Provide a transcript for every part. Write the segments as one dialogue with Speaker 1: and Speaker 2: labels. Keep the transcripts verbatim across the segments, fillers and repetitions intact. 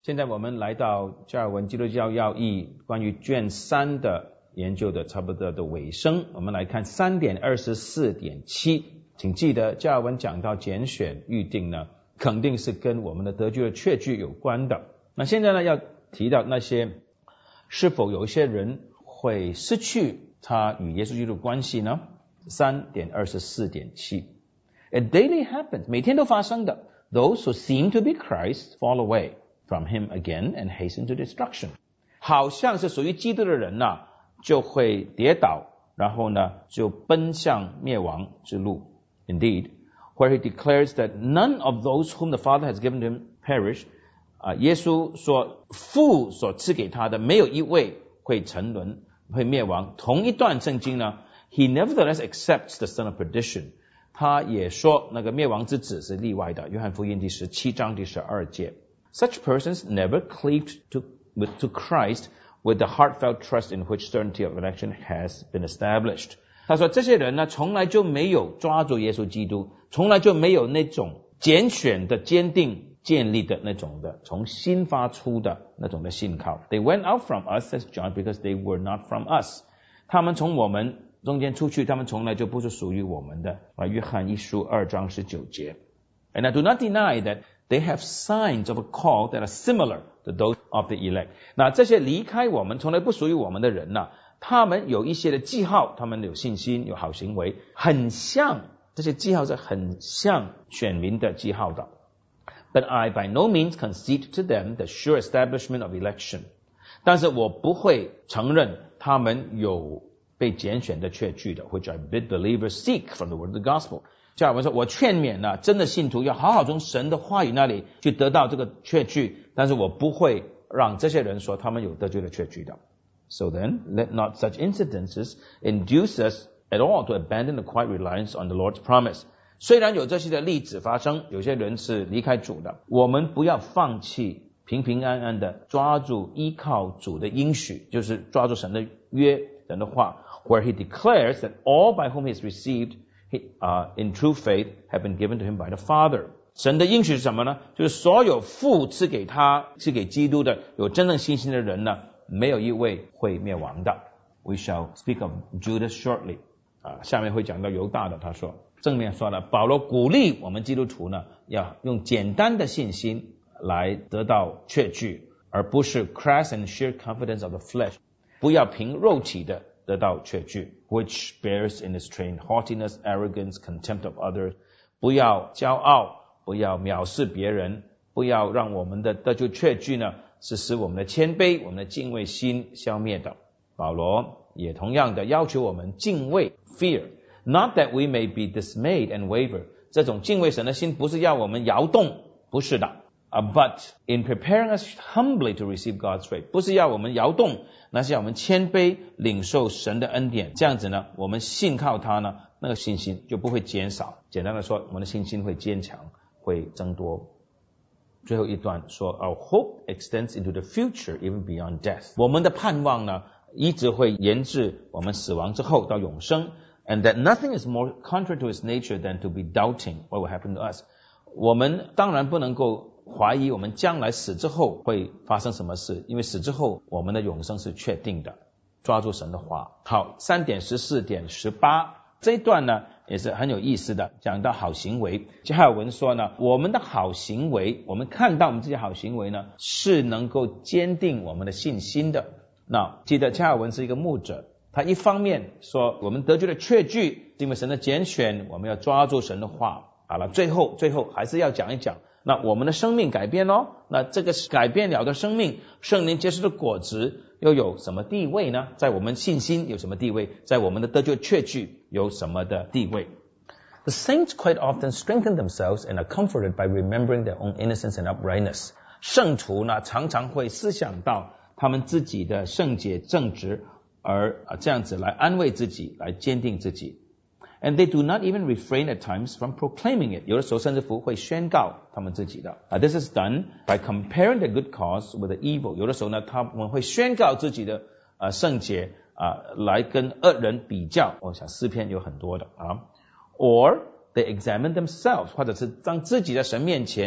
Speaker 1: 现在我们来到加尔文基督教要义关于卷三的研究的差不多的尾声，我们来看 三点二十四点七。 请记得加尔文讲到拣选预定呢，肯定是跟我们的得救的确据有关的。那现在呢，要提到那些是否有一些人会失去他与耶稣基督的关系呢？ 三点二十四点七。 It daily happens， 每天都发生的。 Those who seem to be Christ fall away from him again and hasten to destruction。 好像是属于基督的人呢、啊，就会跌倒，然后呢就奔向灭亡之路。 Indeed, where he declares that none of those whom the Father has given him perish， 啊，耶稣说父所赐给他的没有一位会沉沦会灭亡。同一段圣经呢， he nevertheless accepts the son of perdition， 他也说那个灭亡之子是例外的。约翰福音第十七章第十二节。 Such persons never cleaved to, with, to Christ with the heartfelt trust in which certainty of election has been established。 他说这些人呢，从来就没有抓住耶稣基督，从来就没有那种拣选的坚定建立的那种的从心发出的那种的信靠。 They went out from us, says John, because they were not from us。 他们从我们中间出去，他们从来就不是属于我们的。约翰一书二章十九节。 And I do not deny that they have signs of a call that are similar to those of the elect。 那这些离开我们从来不属于我们的人呢、啊，他们有一些的记号，他们有信心有好行为，很像，这些记号是很像选民的记号的。 But I by no means concede to them the sure establishment of election。 但是我不会承认他们有被拣选的确据的， which I bid believers seek from the word of the gospel。加尔文说，我劝勉呢、啊，真的信徒要好好从神的话语那里去得到这个确据，但是我不会让这些人说他们有得救的确据的。 So then, let not such incidences induce us at all to abandon the quiet reliance on the Lord's promise。 虽然有这些的例子发生，有些人是离开主的，我们不要放弃平平安安的抓住依靠主的应许，就是抓住神的约，神的话 where he declares that all by whom he has received He, uh, in true faith have been given to him by the Father。 神的应许是什么呢？就是所有父赐给他赐给基督的有真正信心的人呢，没有一位会灭亡的。 We shall speak of Judas shortly。 啊，下面会讲到犹大的。他说正面说了，保罗鼓励我们基督徒呢，要用简单的信心来得到确据，而不是 crass and sheer confidence of the flesh， 不要凭肉体的得到确据 which bears in its train haughtiness, arrogance, contempt of others。 不要骄傲，不要藐视别人，不要让我们的得救确据呢是使我们的谦卑我们的敬畏心消灭的。保罗也同样的要求我们敬畏 fear， not that we may be dismayed and waver。 这种敬畏神的心不是要我们摇动，不是的。Uh, but in preparing us humbly to receive God's grace， 不是要我们摇动，那是要我们谦卑领受神的恩典。这样子呢，我们信靠他呢，那个信心就不会减少。简单的说，我们的信心会坚强，会增多。最后一段说 Our hope extends into the future even beyond death。 我们的盼望呢，一直会延至我们死亡之后到永生。And that nothing is more contrary to its nature than to be doubting what will happen to us。 我们当然不能够怀疑我们将来死之后会发生什么事，因为死之后我们的永生是确定的。抓住神的话。好， 三点十四点十八 这一段呢也是很有意思的，讲到好行为。加尔文说呢，我们的好行为，我们看到我们这些好行为呢，是能够坚定我们的信心的。那记得加尔文是一个牧者，他一方面说我们得救的确据，因为神的拣选，我们要抓住神的话。好了，最后最后还是要讲一讲，那我们的生命改变咯，那这个改变了的生命，圣灵结出的果子又有什么地位呢？在我们信心有什么地位？在我们的得救确据有什么的地位？ The saints quite often strengthen themselves and are comforted by remembering their own innocence and uprightness。 圣徒呢常常会思想到他们自己的圣洁正直，而这样子来安慰自己，来坚定自己。And they do not even refrain at times from proclaiming it。 有的时候甚至乎会宣告他们自己的。Uh, this is done by comparing the good cause with the evil。 有的时候呢，他们会宣告自己的呃圣洁啊、呃，来跟恶人比较。我想诗篇有很多的啊。Or they examine themselves， 或者是当自己在神面前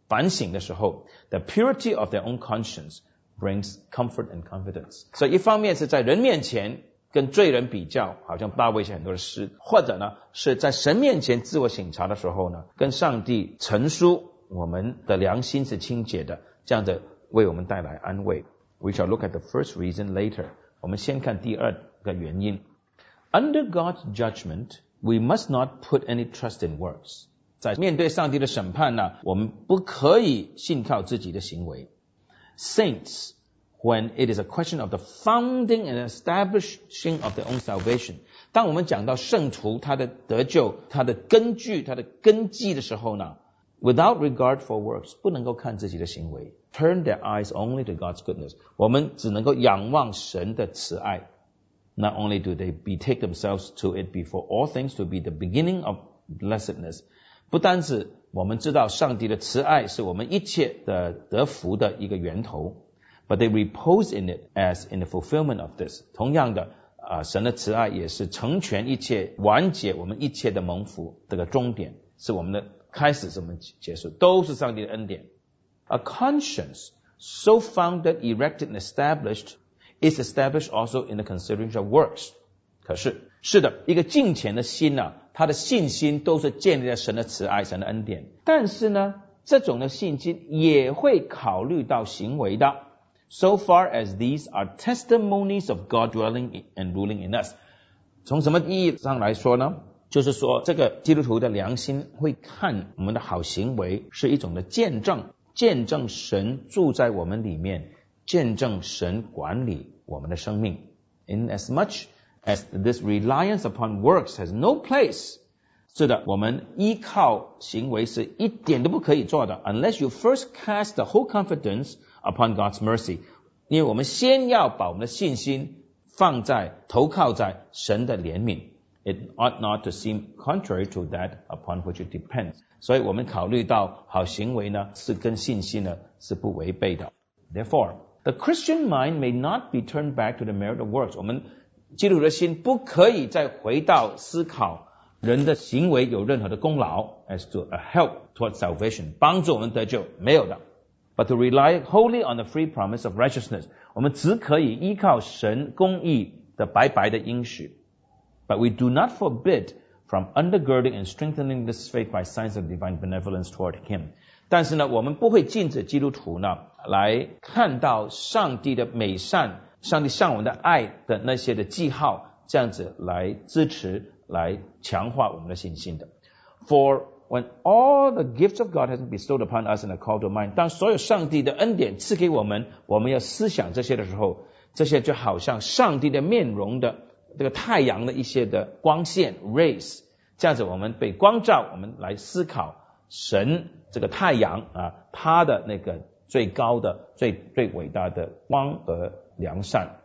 Speaker 1: 反省的时候 ，the purity of their own conscience brings comfort and confidence。所以一方面是在人面前跟罪人比较，好像大卫写很多的诗，或者呢是在神面前自我省察的时候呢，跟上帝陈述我们的良心是清洁的，这样的为我们带来安慰。We shall look at the first reason later。我们先看第二个原因。Under God's judgment, we must not put any trust in works。在面对上帝的审判呢，我们不可以信靠自己的行为。Saints, when it is a question of the founding and establishing of their own salvation， 当我们讲到圣徒他的得救，他的根据，他的根基的时候呢， without regard for works， 不能够看自己的行为， turn their eyes only to God's goodness， 我们只能够仰望神的慈爱。Not only do they betake themselves to it before all things to be the beginning of blessedness， 不单是我们知道上帝的慈爱是我们一切的得福的一个源头， but they repose in it as in the fulfillment of this。 同样的、呃、神的慈爱也是成全一切，完结我们一切的蒙福，这个终点是我们的开始，是我们结束，都是上帝的恩典。A conscience so founded, erected and established is established also in the consideration of works。 可是是的，一个敬虔的心啊，他的信心都是建立在神的慈爱，神的恩典，但是呢这种的信心也会考虑到行为的。 So far as these are testimonies of God dwelling and ruling in us。 从什么意义上来说呢，就是说这个基督徒的良心会看我们的好行为是一种的见证，见证神住在我们里面，见证神管理我们的生命。 In as much as this reliance upon works has no place， 是的，我们依靠行为是一点都不可以做的， unless you first cast the whole confidence upon God's mercy， 因为我们先要把我们的信心放在投靠在神的怜悯。 It ought not to seem contrary to that upon which it depends。 所以我们考虑到好行为呢是跟信心呢是不违背的。 Therefore the Christian mind may not be turned back to the merit of works。 我们基督徒的心不可以再回到思考人的行为有任何的功劳 as to a help towards salvation， 帮助我们得救，没有的。 But to rely wholly on the free promise of righteousness， 我们只可以依靠神公义的白白的应许。 But we do not forbid from undergirding and strengthening this faith by signs of divine benevolence toward him。 但是呢，我们不会禁止基督徒呢来看到上帝的美善，上帝向我们的爱的那些的记号，这样子来支持，来强化我们的信心的。 For when all the gifts of God has been bestowed upon us in a call to mind， 当所有上帝的恩典赐给我们，我们要思想这些的时候，这些就好像上帝的面容的这个太阳的一些的光线 rays， 这样子我们被光照，我们来思考神这个太阳啊，它的那个最高的最最伟大的光和良善。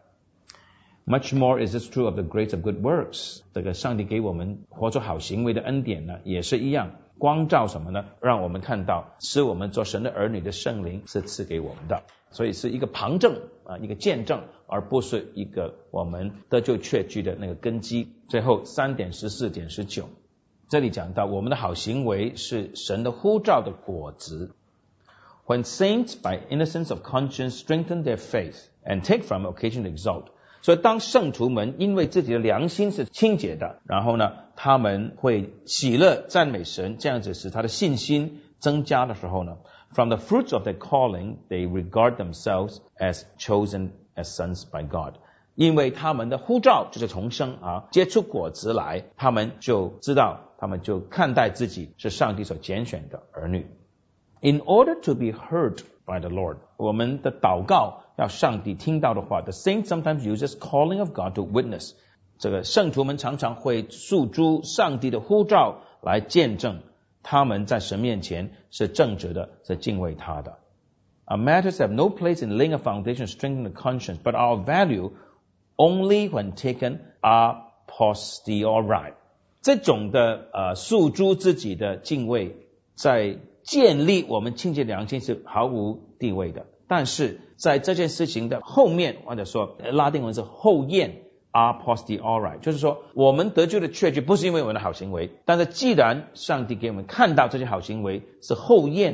Speaker 1: Much more is this true of the grace of good works。 这个上帝给我们活出好行为的恩典呢也是一样，光照什么呢？让我们看到使我们做神的儿女的圣灵是赐给我们的，所以是一个旁证啊，一个见证，而不是一个我们得救确据的那个根基。最后三点十四点十九，这里讲到我们的好行为是神的呼召的果子。 When saints by innocence of conscience strengthen their faith and take from occasion to exalt， 所以当圣徒们因为自己的良心是清洁的，然后呢他们会喜乐赞美神，这样子使他的信心增加的时候呢， From the fruits of their calling they regard themselves as chosen as sons by God。 因为他们的呼召就是重生啊，结出果子来，他们就知道，他们就看待自己是上帝所拣选的儿女。 In order to be heard by the Lord， 我们的祷告要上帝听到的话， The saint sometimes uses calling of God to witness。 这个圣徒们常常会诉诸上帝的呼召来见证他们在神面前是正直的，是敬畏他的。 Our matters have no place in laying a foundation strengthening the conscience, but our value only when taken a posteriori。 这种的呃诉诸自己的敬畏，在建立我们清洁良心是毫无地位的，但是在这件事情的后面，或者说拉丁文是后验 a posteriori， 就是说我们得救的确据不是因为我们的好行为，但是既然上帝给我们看到这些好行为是后验的，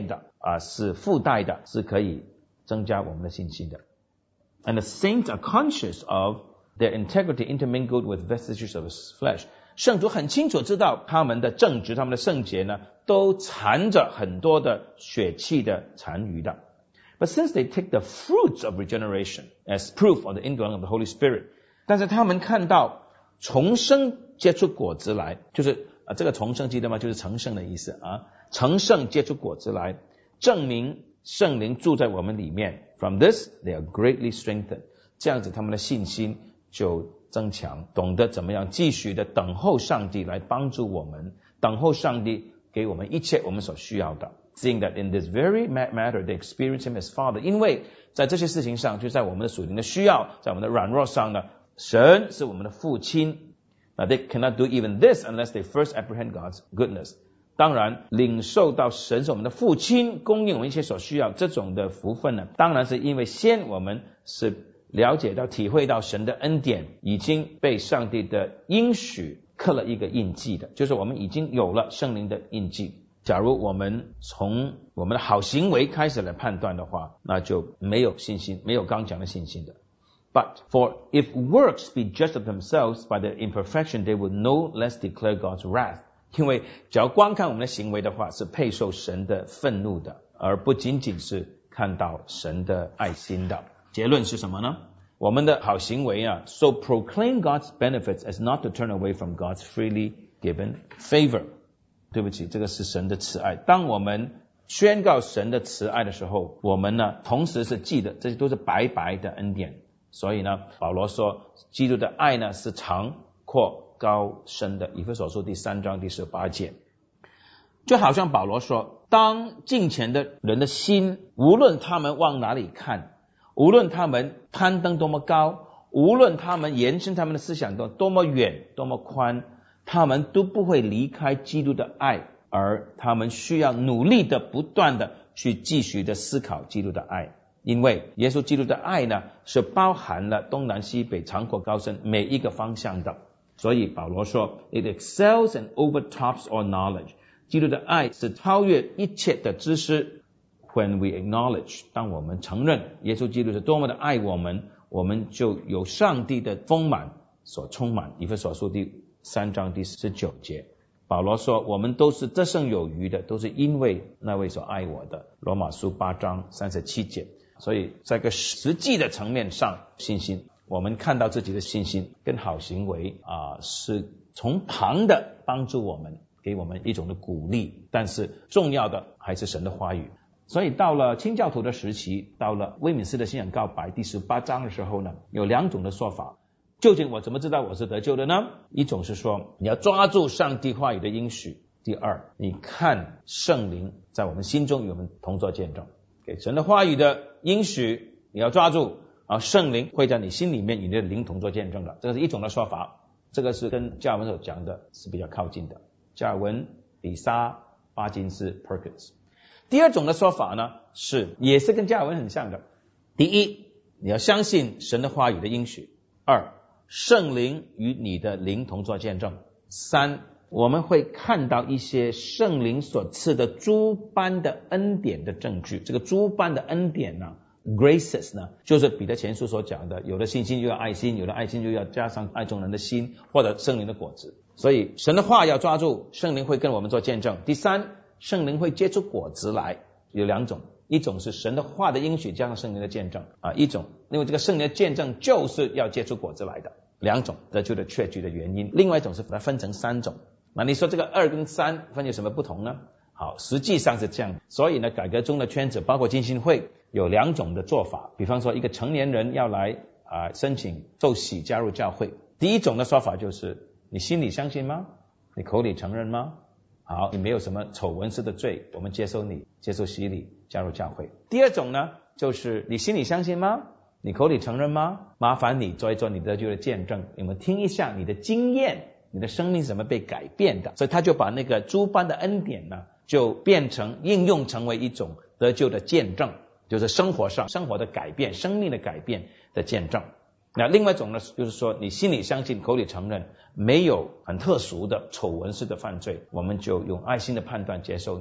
Speaker 1: 啊是附带的，是可以增加我们的信心的。And the saints are conscious of their integrity intermingled with vestiges of flesh. 圣徒很清楚知道他们的正直，他们的圣洁呢，都缠着很多的血气的残余的。But since they take the fruits of regeneration as proof of the indwelling of the Holy Spirit, 但是他们看到重生结出果子来，就是啊，这个重生记得吗？就是成圣的意思啊，成圣结出果子来，证明圣灵住在我们里面。From this, they are greatly strengthened. 这样子他们的信心就增强，懂得怎么样继续的等候上帝来帮助我们，等候上帝给我们一切我们所需要的。Seeing that in this very matter, they experience him as Father. 因为在这些事情上，就在我们的属灵的需要，在我们的软弱上呢，神是我们的父亲。Now they cannot do even this unless they first apprehend God's goodness. 当然，领受到神是我们的父亲，供应我们一切所需要，这种的福分呢，当然是因为先我们是了解到、体会到神的恩典，已经被上帝的应许刻了一个印记的，就是我们已经有了圣灵的印记。假如我们从我们的好行为开始来判断的话，那就没有信心，没有刚讲的信心的。But for if works be just of themselves by their imperfection, they would no less declare God's wrath. 因为只要光看我们的行为的话，是配受神的愤怒的，而不仅仅是看到神的爱心的。结论是什么呢？我们的好行为啊 ，so proclaim God's benefits as not to turn away from God's freely given favor. 对不起，这个是神的慈爱。当我们宣告神的慈爱的时候，我们呢，同时是记得这些都是白白的恩典。所以呢，保罗说，基督的爱呢是长阔高深的。以弗所书第三章第十八节，就好像保罗说，当敬虔的人的心，无论他们往哪里看，无论他们攀登多么高，无论他们延伸他们的思想多多么远多么宽，他们都不会离开基督的爱，而他们需要努力的不断的去继续的思考基督的爱。因为耶稣基督的爱呢，是包含了东南西北长阔高深每一个方向的。所以保罗说 It excels and overtops all knowledge. 基督的爱是超越一切的知识。When we acknowledge, 当我们承认耶稣基督是多么的爱我们，我们就有上帝的丰满所充满。以弗所书第三章第十九节，保罗说我们都是得胜有余的，都是因为那位所爱我的。罗马书八章三十七节。所以在个实际的层面上，信心，我们看到自己的信心跟好行为啊，是从旁的帮助我们，给我们一种的鼓励，但是重要的还是神的话语。所以到了清教徒的时期，到了威敏斯的信仰告白第十八章的时候呢，有两种的说法。究竟我怎么知道我是得救的呢？一种是说你要抓住上帝话语的应许，第二，你看圣灵在我们心中与我们同作见证。给神的话语的应许你要抓住啊，圣灵会在你心里面与你的灵同作见证的，这个是一种的说法。这个是跟加尔文所讲的是比较靠近的，加尔文、比沙、巴金斯、Perkins。第二种的说法呢，是也是跟加尔文很像的。第一，你要相信神的话语的应许；二，圣灵与你的灵同作见证；三，我们会看到一些圣灵所赐的诸般的恩典的证据。这个诸般的恩典呢 graces 呢，就是彼得前书所讲的，有了信心就要爱心，有了爱心就要加上爱众人的心，或者圣灵的果子。所以神的话要抓住，圣灵会跟我们做见证。第三，圣灵会结出果子来，有两种，一种是神的话的应许加上圣灵的见证啊，一种因为这个圣灵的见证就是要结出果子来的，两种得救的确据的原因。另外一种是把它分成三种。那你说这个二跟三分有什么不同呢？好，实际上是这样。所以呢，改革中的圈子包括浸信会有两种的做法。比方说一个成年人要来啊、呃、申请受洗加入教会，第一种的说法就是你心里相信吗？你口里承认吗？好，你没有什么丑闻式的罪，我们接受你，接受洗礼加入教会。第二种呢，就是你心里相信吗？你口里承认吗？麻烦你做一做你得救的见证，你们听一下你的经验，你的生命是怎么被改变的。所以他就把那个诸般的恩典呢，就变成应用成为一种得救的见证，就是生活上生活的改变，生命的改变的见证。那另外一种呢，就是说你心里相信，口里承认，没有很特殊的丑闻式的犯罪，我们就用爱心的判断接受你。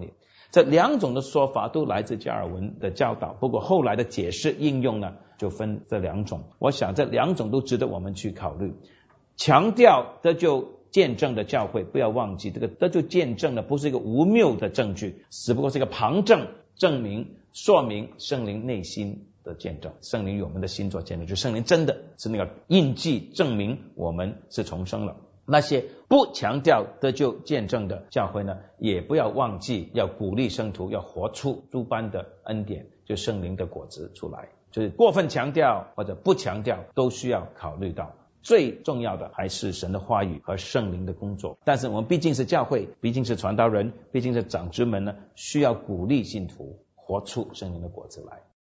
Speaker 1: 这两种的说法都来自加尔文的教导，不过后来的解释应用呢，就分这两种。我想这两种都值得我们去考虑。强调得救见证的教会，不要忘记这个得救见证呢，不是一个无谬的证据，只不过是一个旁证，证明说明圣灵内心的见证，圣灵与我们的心做见证，就圣灵真的是那个印记，证明我们是重生了。那些不强调得救见证的教会呢，也不要忘记要鼓励圣徒要活出诸般的恩典，就圣灵的果子出来。就是过分强调或者不强调都需要考虑到，最重要的还是神的话语和圣灵的工作。但是我们毕竟是教会，毕竟是传道人，毕竟是长子们呢，需要鼓励信徒活出圣灵的果子来。